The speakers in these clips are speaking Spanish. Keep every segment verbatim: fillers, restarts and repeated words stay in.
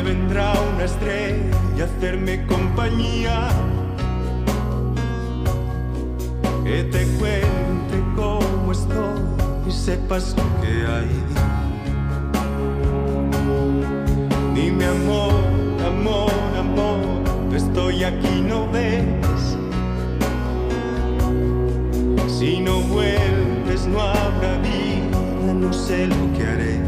vendrá una estrella a hacerme compañía, que te cuente cómo estoy y sepas lo que hay. Dime amor, amor, amor, estoy aquí, ¿no ves? Si no vuelves no habrá vida, no sé lo que haré.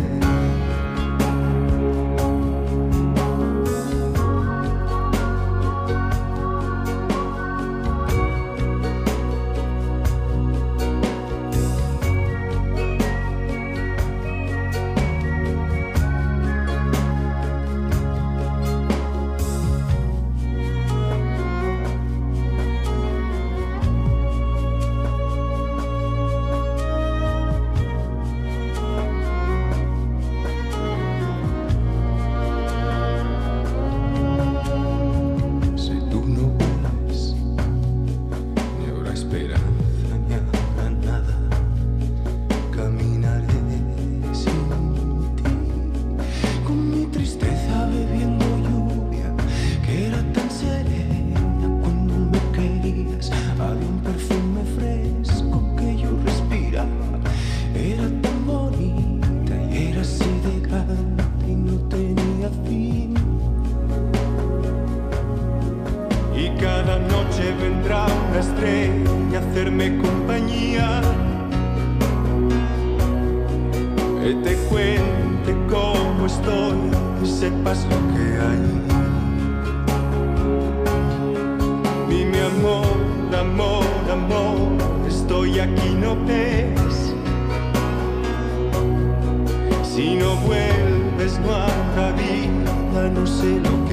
Cada noche vendrá una estrella a hacerme compañía, que te cuente cómo estoy y sepas lo que hay. Dime amor, amor, amor, estoy aquí, ¿no ves? Si no vuelves no habrá vida, no sé lo que